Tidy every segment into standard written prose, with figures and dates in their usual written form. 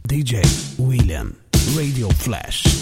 DJ William, Radio Flash.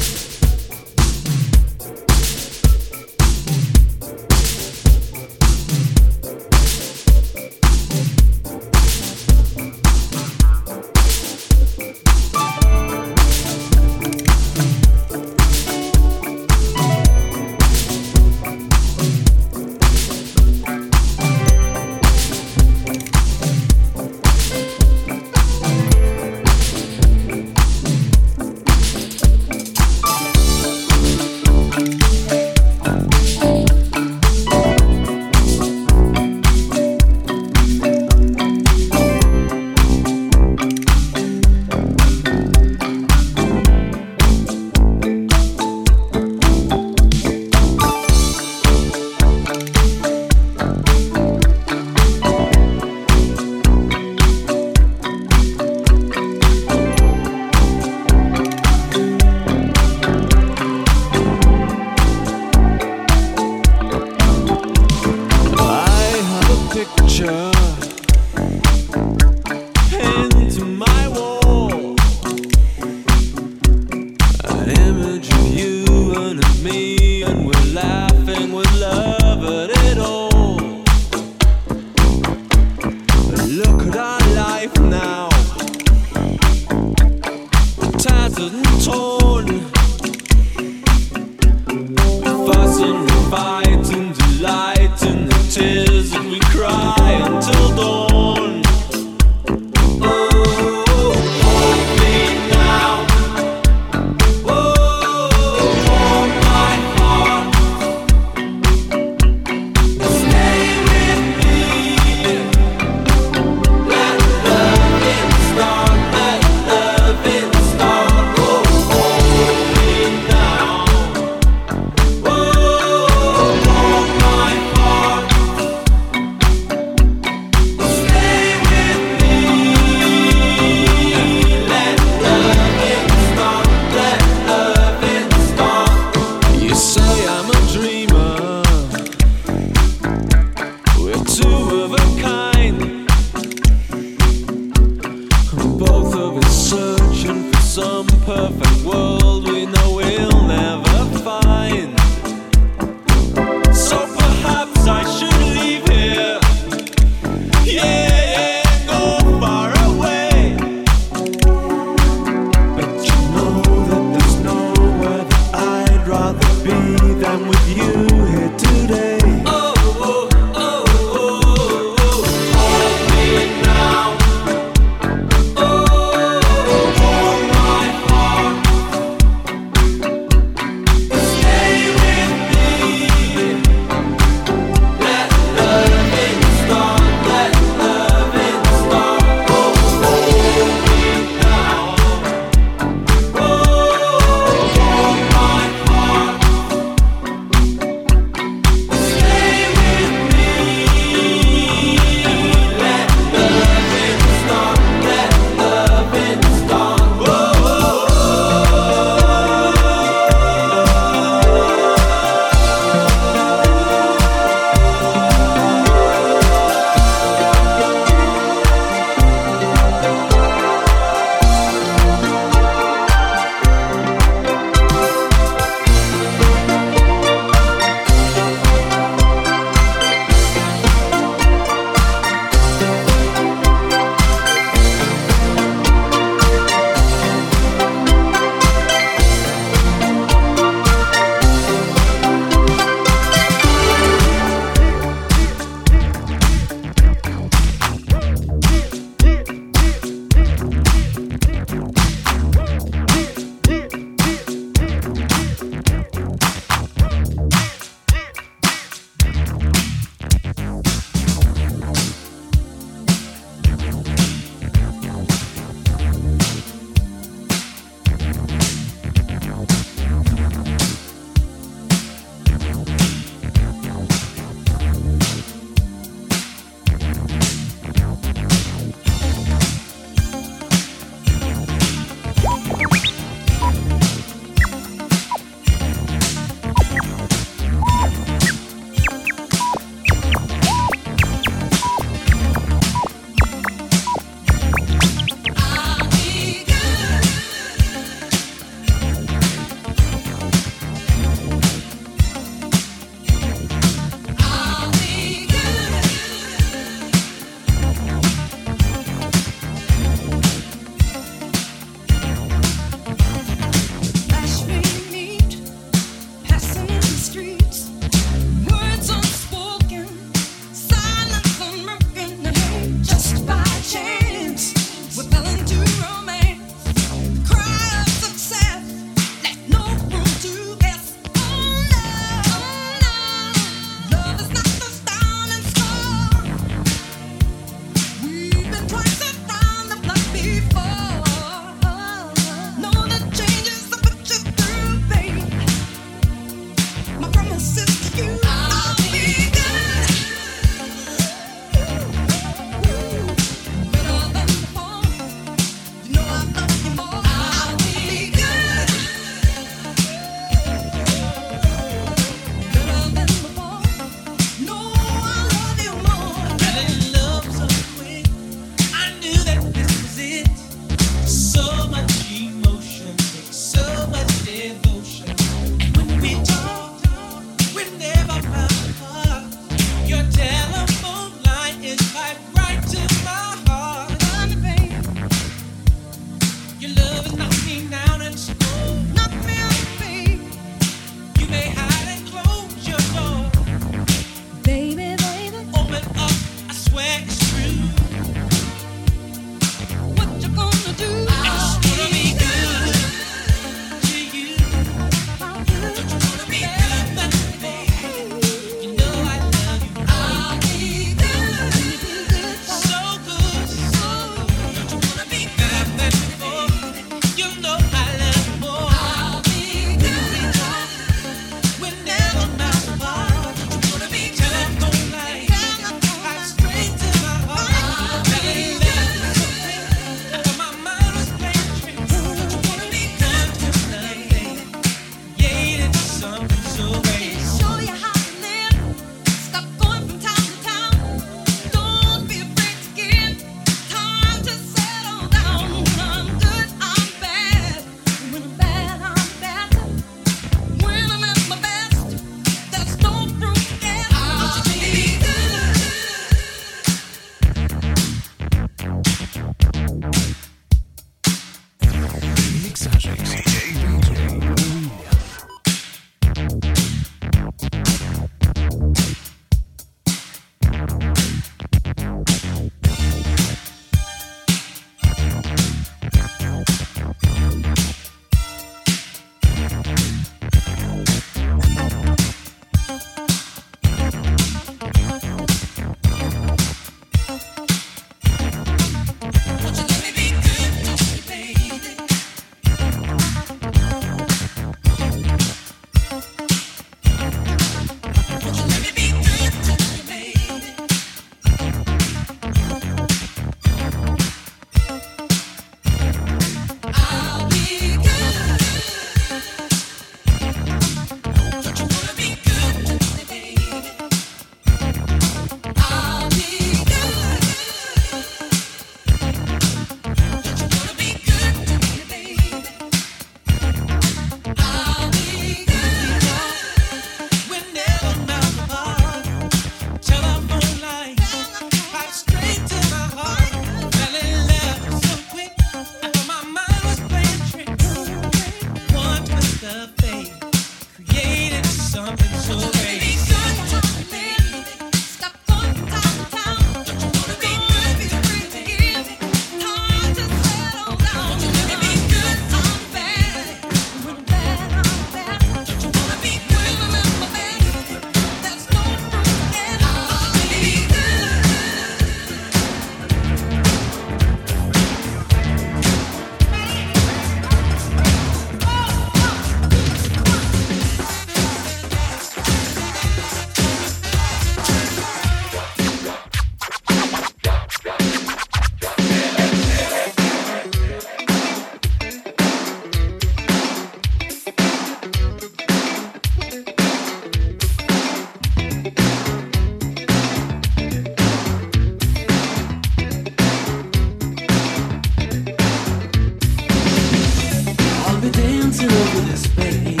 dancing over this pain.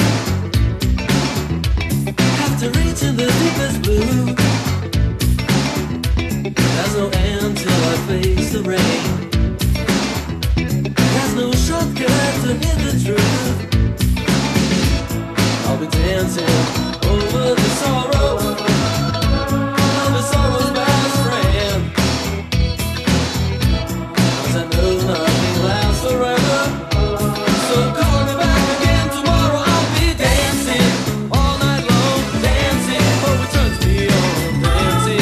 Have to reach in the deepest blue. There's no end till I face the rain. There's no shortcut to hit the truth. I'll be dancing over the sorrow. I'm the sorrow's best friend. 'Cause I know nothing lasts forever. So call me back again tomorrow. I'll be dancing all night long, dancing. Oh, it turns me on, dancing.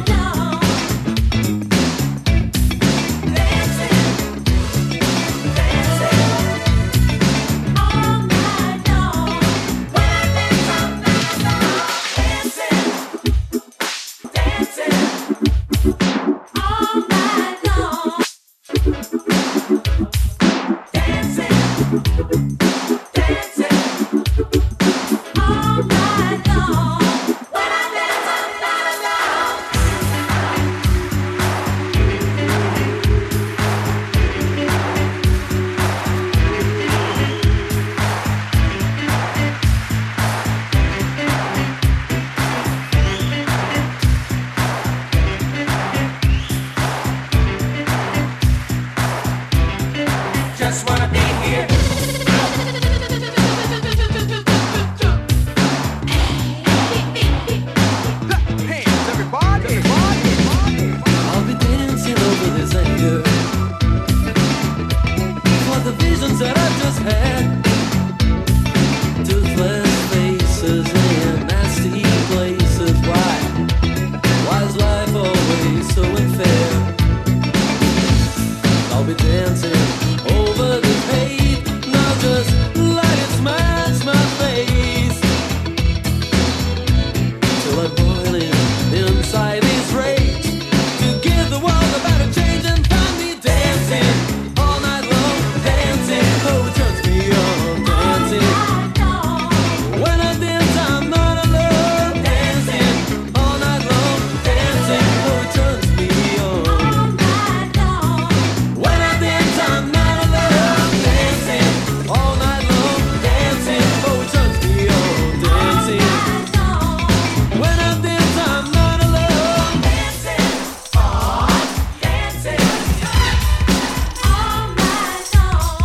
Just wanna be here. Hands, everybody. I'll be dancing over this anger for the visions that I just had. Toothless faces in nasty places. Why is life always so unfair? I'll be dancing over the hate. Now just let it smash my face till I'm boiling inside this rage to give the world a better change and find me dancing all night long, dancing. Oh, it turns me on, dancing. When I dance, I'm not alone, dancing all night long, dancing. Oh, it turns me on. When I dance, I'm not alone, dancing all night long, dancing. Oh, it turns me on, dancing. When I dance, I'm not alone, dancing, dancing all night long.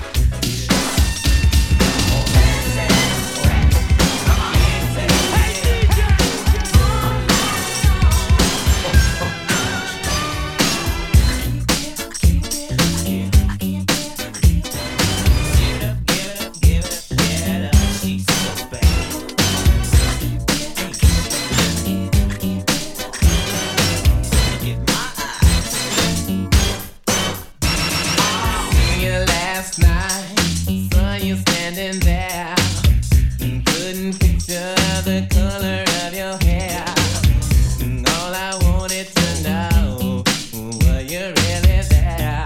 Last night, saw you standing there. Couldn't picture the color of your hair. All I wanted to know, were you really there?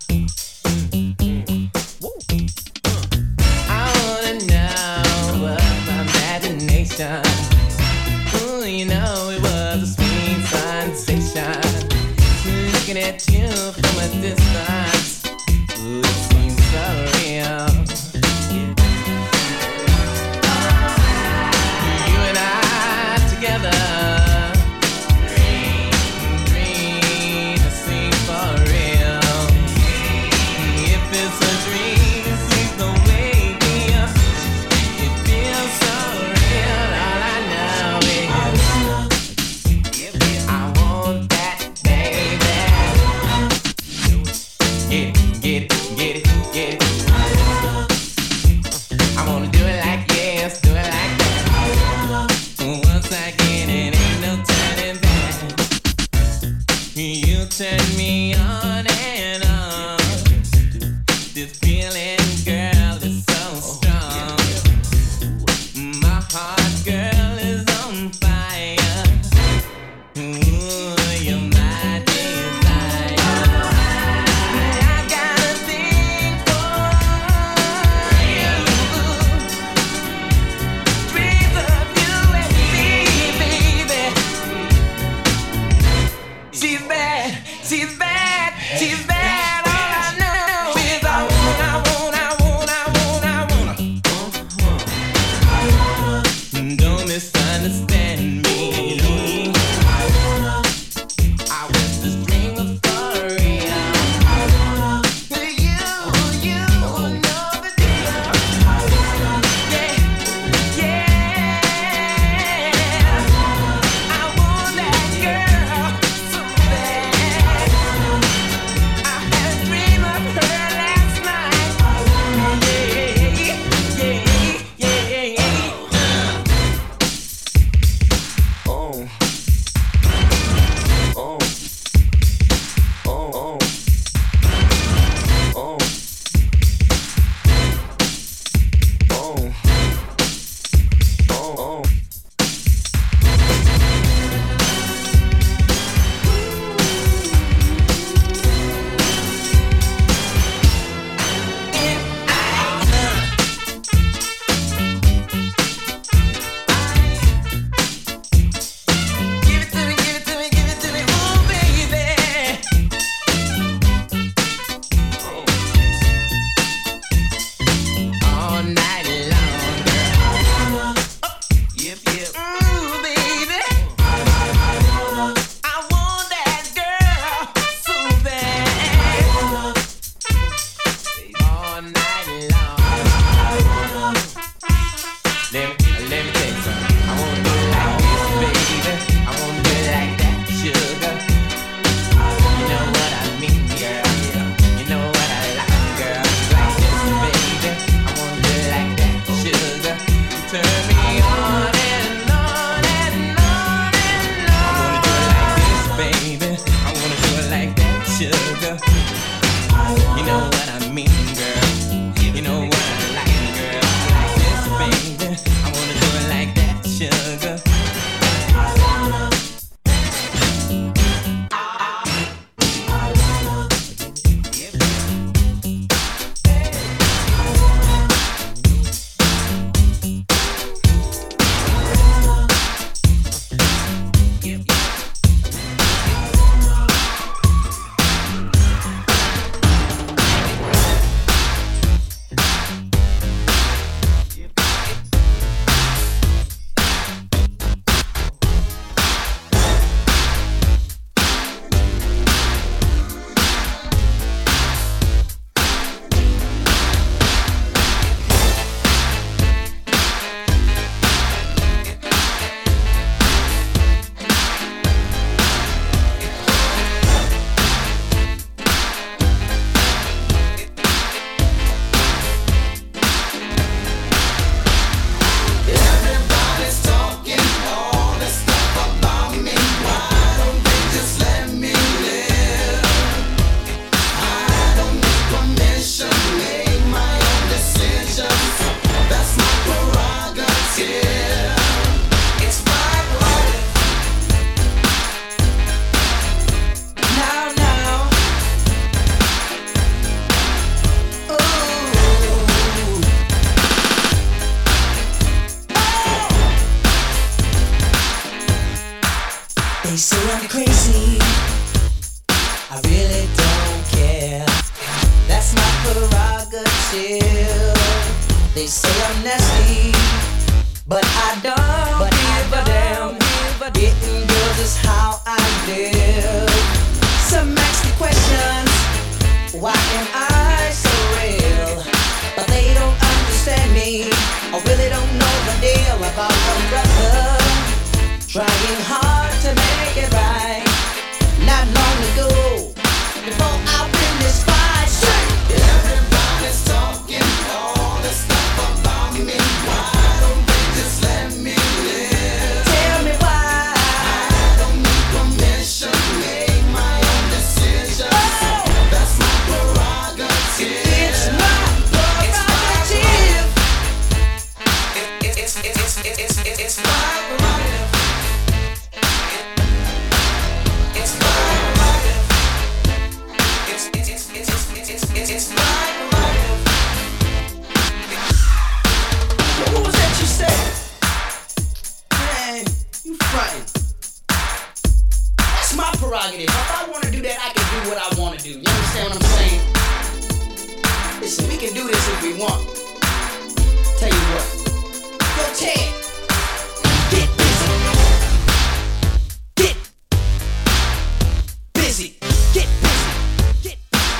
I wanna know what my imagination. Ooh, you know it was a sweet sensation. Looking at you from a distance. Ooh, it seems so real. You and I together. Dream, it seems for real. If it's a dream, please don't wake me up. It feels so real. All I know is I want that, baby. Get it. I wanna do it like yes, do it like that. Once I get it, ain't no turning back. You turn me on and on. This feeling, girl, is so strong. My heart, girl, is on fire. Ooh, you're my desire. I got a thing for you. They say I'm crazy, I really don't care. That's my prerogative. They say I'm nasty, but I don't give a damn. Getting girls is how I live. Some ask me questions, why am I so real? But they don't understand me, or really don't know the deal about my brother. Trying hard to make it right. Not long ago, before I win this fight, everybody's talking all this stuff about me. Why don't they just let me live? Tell me why. I don't need permission, make my own decisions. Oh. That's my prerogative. It's my prerogative. It's my prerogative. It's my prerogative. It's my prerogative. What was that you said? Man, you frontin'. That's my prerogative. If I wanna do that, I can do what I wanna do. You understand what I'm saying? Listen, we can do this if we want. Tell you what. Yo, Ted. Get busy. Get busy. Get busy. Get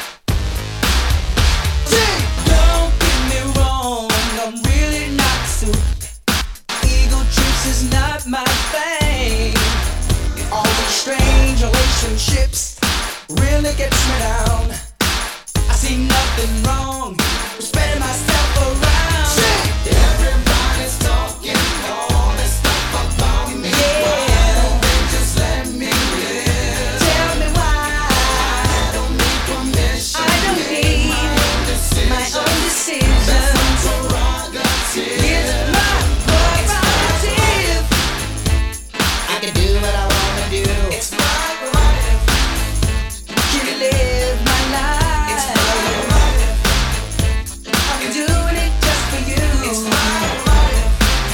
busy. Don't get me wrong, I'm really not suited. Ego trips is not my thing. All these strange relationships really gets me down. I see nothing wrong with spreading myself around. Everybody's talking all this stuff about me. Yeah. Why don't they just let me live? Tell me why. I don't need permission. I don't need my own decisions. That's my prerogative. It's my prerogative. I can do what I wanna do. It's my prerogative. Can you live my life? It's my prerogative. I'm doing it just for you. It's my prerogative.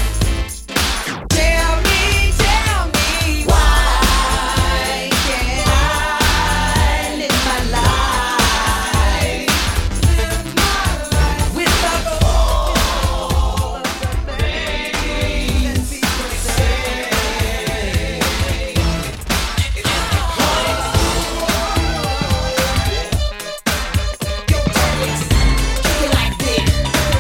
Tell me why can't I live my life? Without all the things people say. Yo, Felix, kick it like this.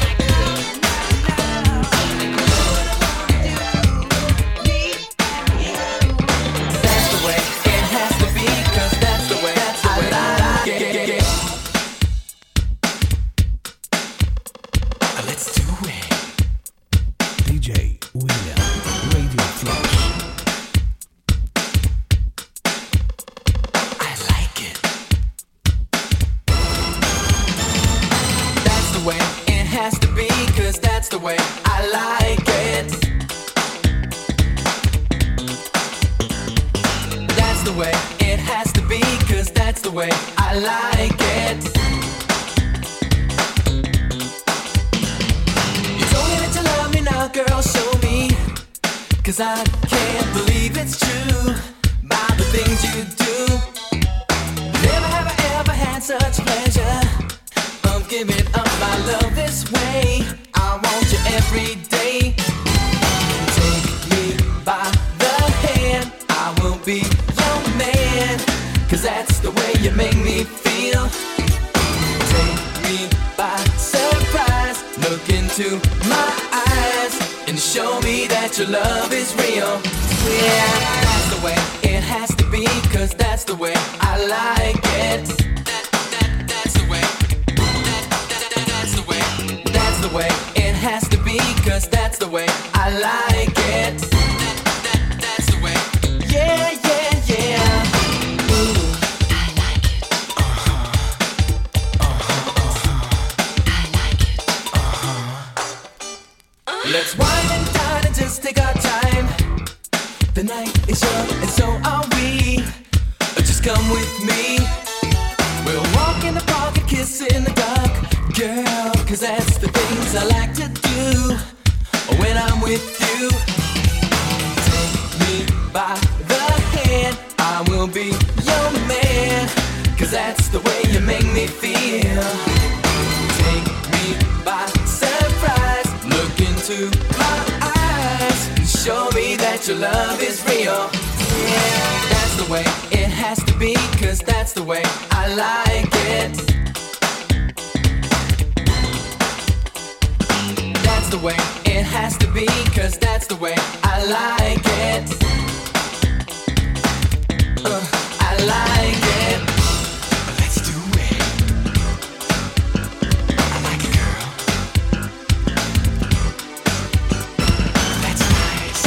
That's the way it has to be, 'cause that's the way I like it. Let's do it. DJ William, Radio Flash. I like it. That's the way it has to be, 'cause that's the way I like it. That's the way it has to be, 'cause that's the way I like it. You told me that you love me now, girl, show me. 'Cause I can't believe it's true by the things you do. Never have I ever had such pleasure of giving up my love this way. I want you every day. Take me by the hand, I will be your man. 'Cause that's the way you make me feel. Take me by surprise, look into my eyes, and show me that your love is real. Yeah, that's the way it has to be, 'cause that's the way I like it. That's the way. That's the way. That's the way it has to be, 'cause that's the way I like it. That's the way. Yeah, yeah, yeah. Ooh. I like it. Let's wine and dine and just take our time. The night is young and so are we. Just come with me. We'll walk in the park and kiss in the dark, girl, 'cause that's the things I like to do when I'm with you. Take me by the hand, 'cause that's the way you make me feel. Take me by surprise, look into my eyes, show me that your love is real. Yeah, that's the way it has to be, 'cause that's the way I like it. That's the way it has to be, 'cause that's the way I like it. I like it. Let's do it. I like it, girl. That's nice.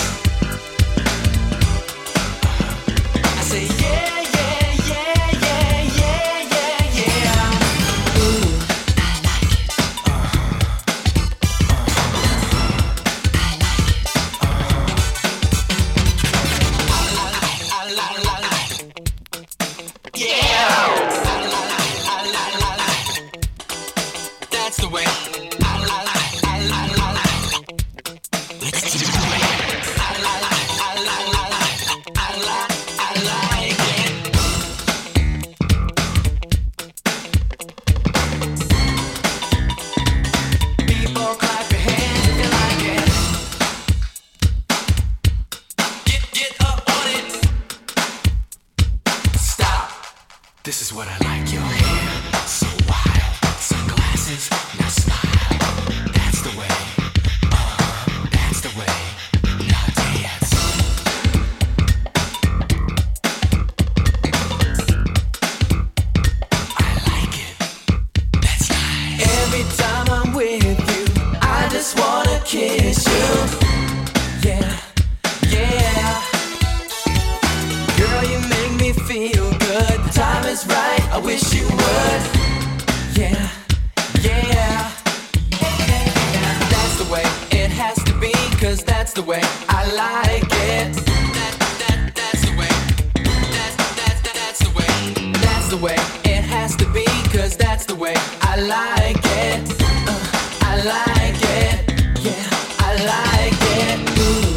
I say yeah, yeah, yeah, yeah, yeah, yeah, yeah. Ooh, I like it. That's the way. Let's do it. I like it. People clap your hands if you like it. Get up on it. Stop. This is what I like. Your hair so wild, sunglasses, now smile. That's the way. That's the way. Now dance. I like it. That's nice. Every time I'm with you, I just wanna kiss you. Yeah, yeah. Girl, you make me feel good. The time is right, I wish you would. Yeah, yeah. That's the way it has to be, 'cause that's the way I like it. That's the way. That's the way. That's the way it has to be, 'cause that's the way I like it. I like it. Yeah, I like it. Ooh.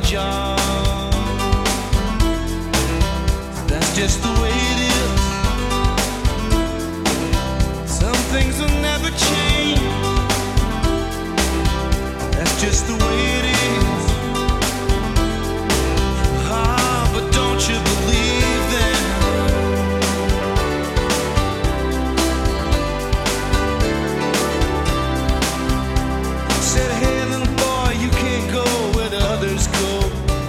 job. That's just the way it is. Some things will never change. That's just the way it is. Ah, but don't you believe them? Said, hey little boy, you can't go where the others go.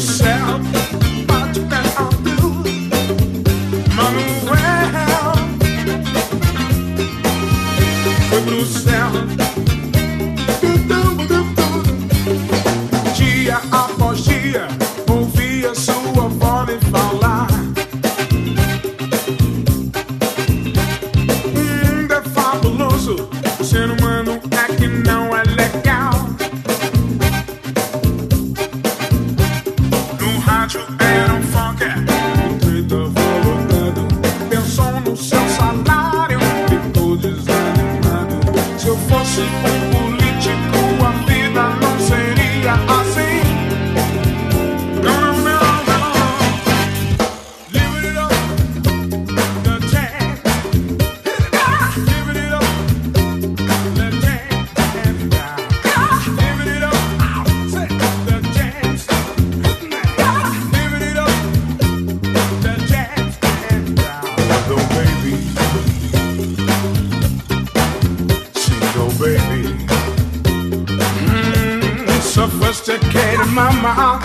yourself much better do. Manuel foi pro céu. Dia após dia ouvia sua voz me falar. É fabuloso, o ser humano é que não é legal. No rádio era um funk, o treta voltando. Pensou no seu salário, ficou desanimado. Se eu fosse um político, a vida não seria assim. Não, não, não, não. Live it up, the jazz. Live it up, the jazz. Live it up, say the jazz. Live it up, the jazz. Go baby, she go baby. Sophisticated mama.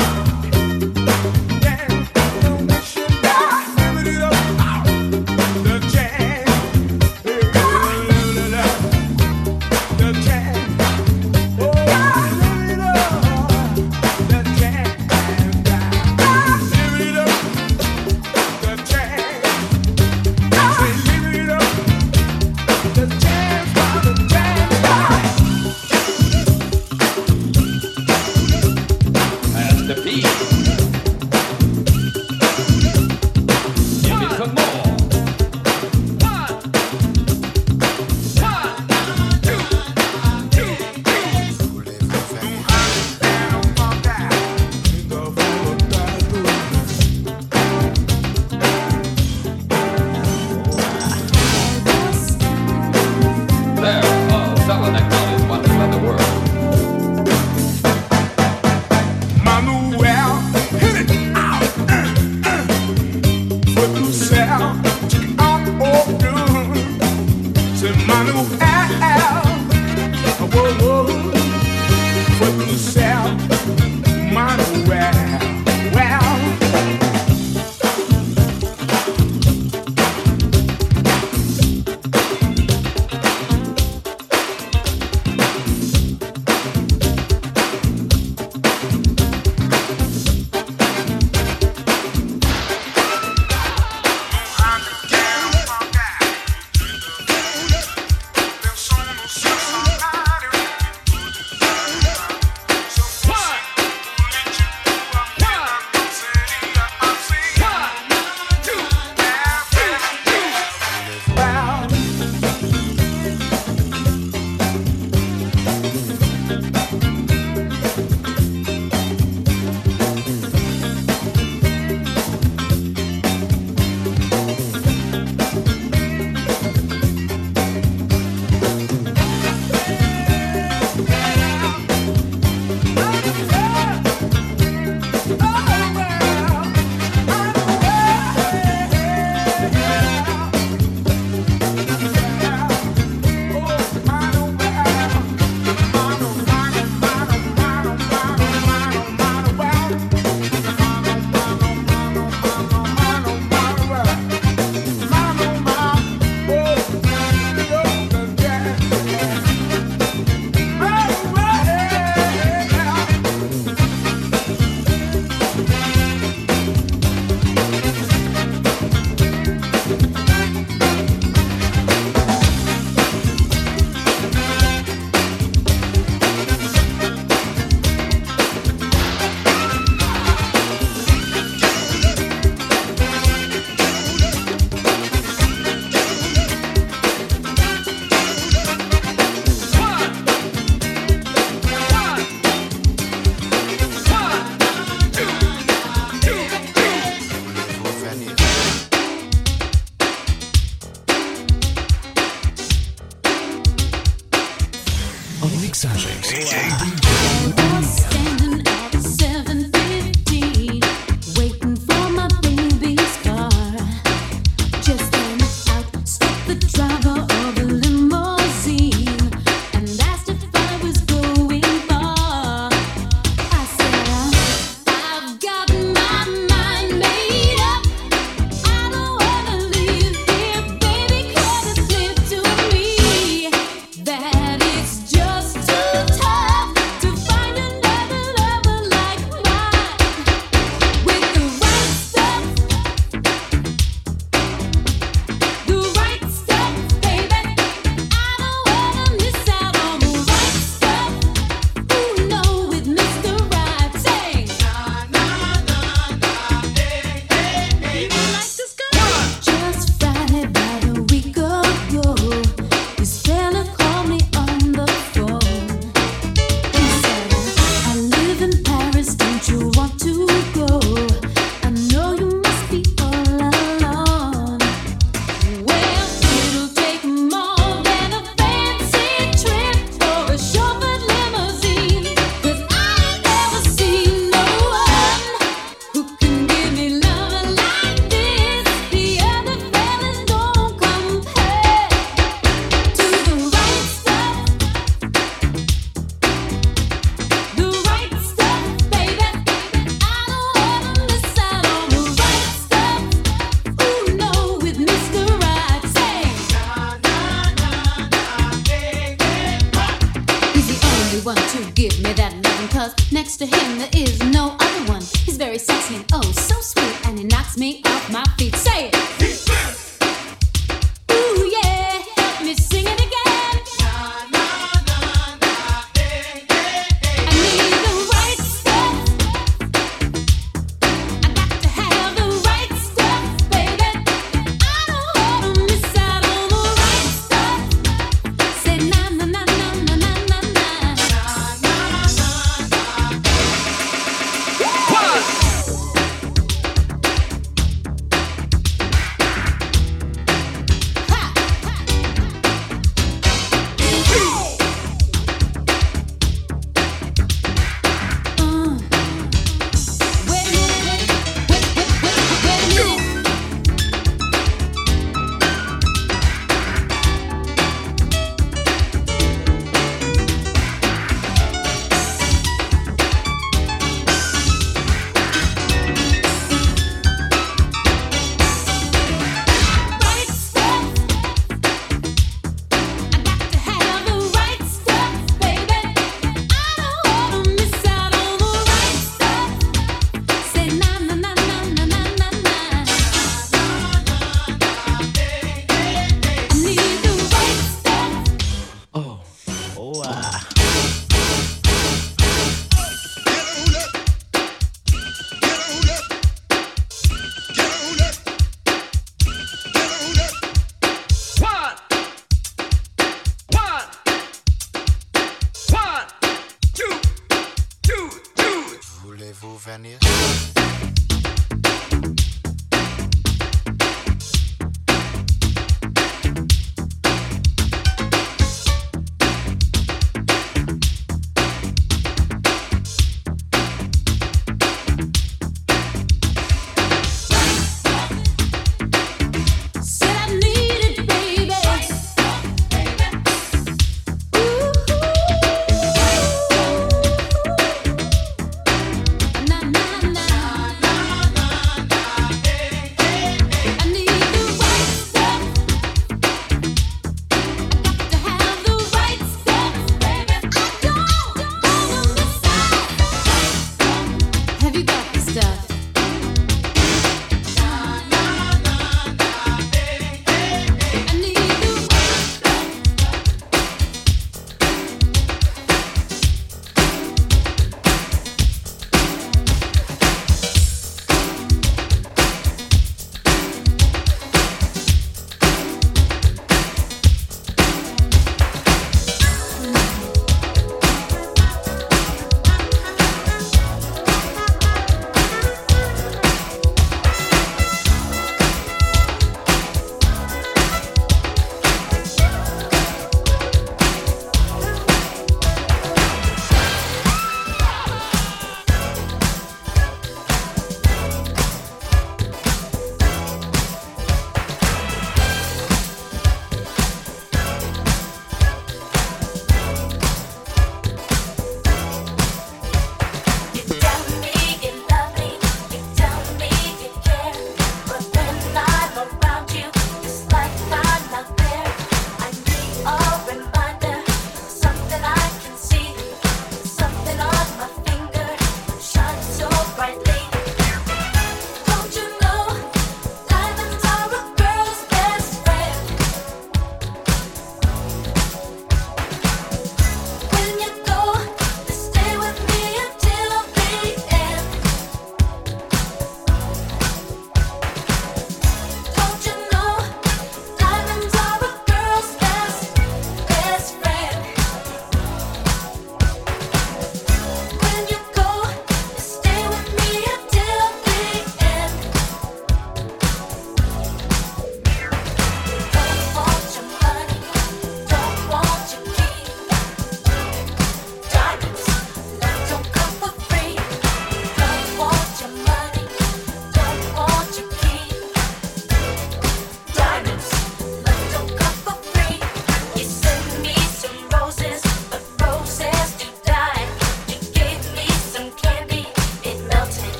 The dancing, oh so sweet, and it knocks me off my feet. Say it. Ooh yeah, help me sing it again. I need the right stuff. I got to have the right stuff, baby. I don't wanna miss out on the right stuff. Say na na na na na na na na. Voulez-vous venir? Said I need it, baby. Na na na.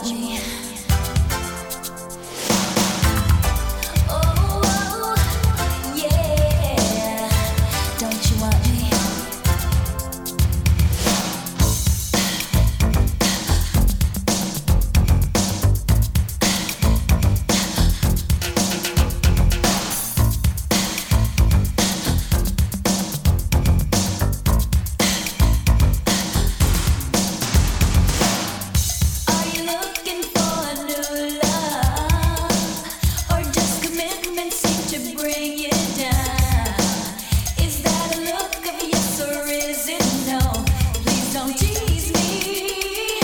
me? Oh, yeah. Don't you want me? Are you looking for a new love, or just commitment seem to bring you down? Is that a look of yes or is it no? Please don't tease me.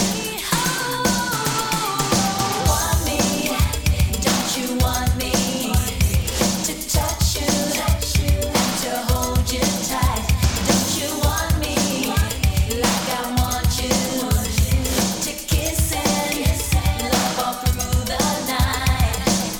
Oh, want me? Don't you want me to touch you and to hold you tight? Don't you want me like I want you? To kiss and love all through the night.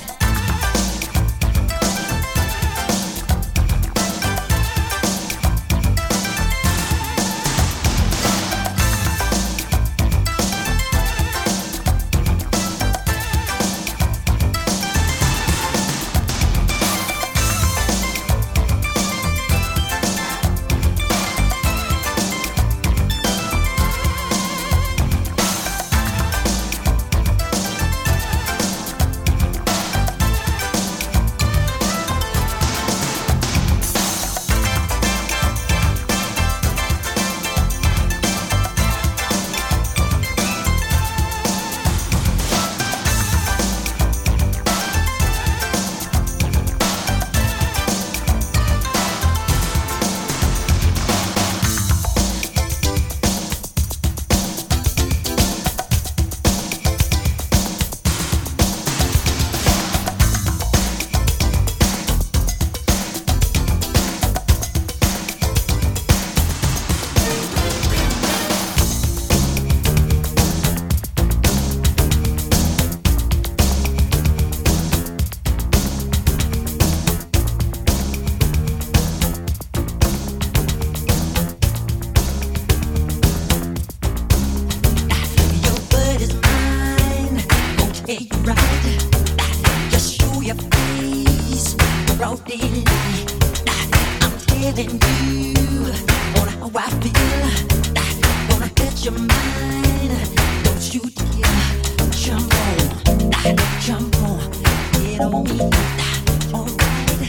Your word is mine, won't take you right. Just show your face, broad daylight. I'm telling you on how I feel. Gonna get your mind, don't you dare jump on, get on me. Alright,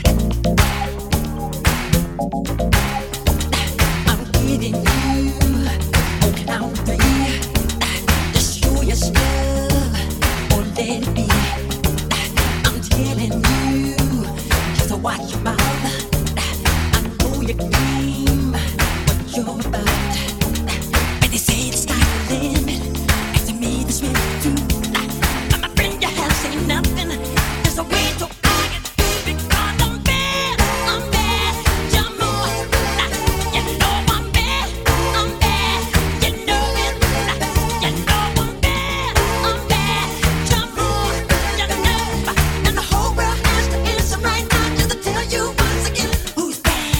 I'm getting you on count three. Just show your stuff or let it be. I'm telling you, just watch your mouth. I know your game, what you're about. When they say the sky's the limit, and to me this really true. My friend, you have seen nothing. There's a way to argue because I'm bad. Jump on, you know I'm bad. You know it. You know I'm bad. Jump on, you know. And the whole world has to answer right now just to tell you once again who's bad.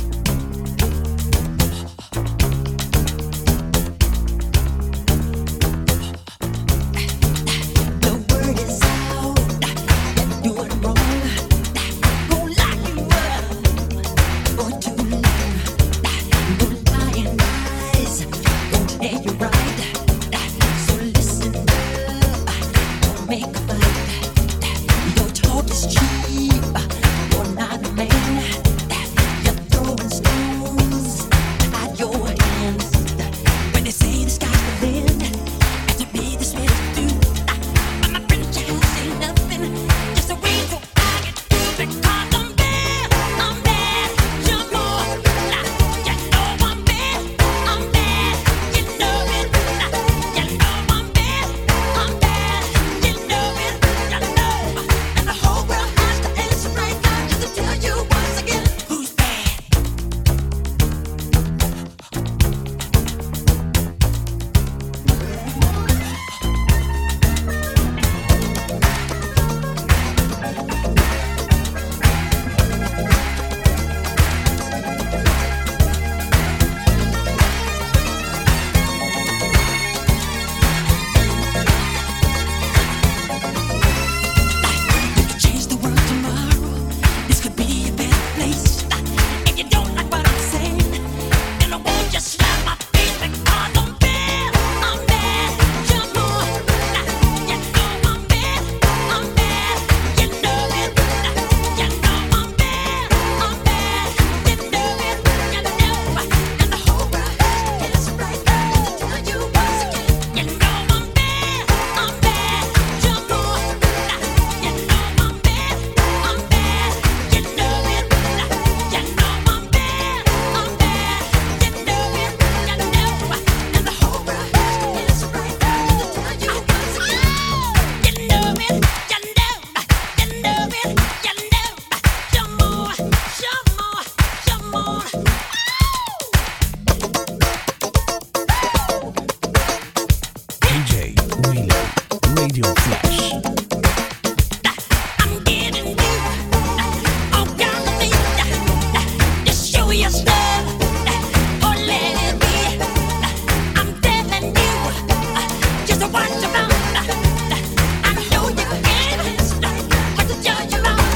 The word is out, you're doing wrong. Won't lock you up for too long. No lying eyes won't tell you right. So listen up, don't make a fight. Your talk is cheap, you're not a man. You're throwing stones at your hands. When they say the sky's the limit, and to me this really do. My friend, you have seen nothing, just a way to argue because I'm bad. Jump on, you know I'm bad. You know it. You know I'm bad. You know it. Radio Flash. I'm getting you all down to me. Just show your stuff or let it be. I'm telling you, just watch your mouth. I know you can, but to judge your mouth.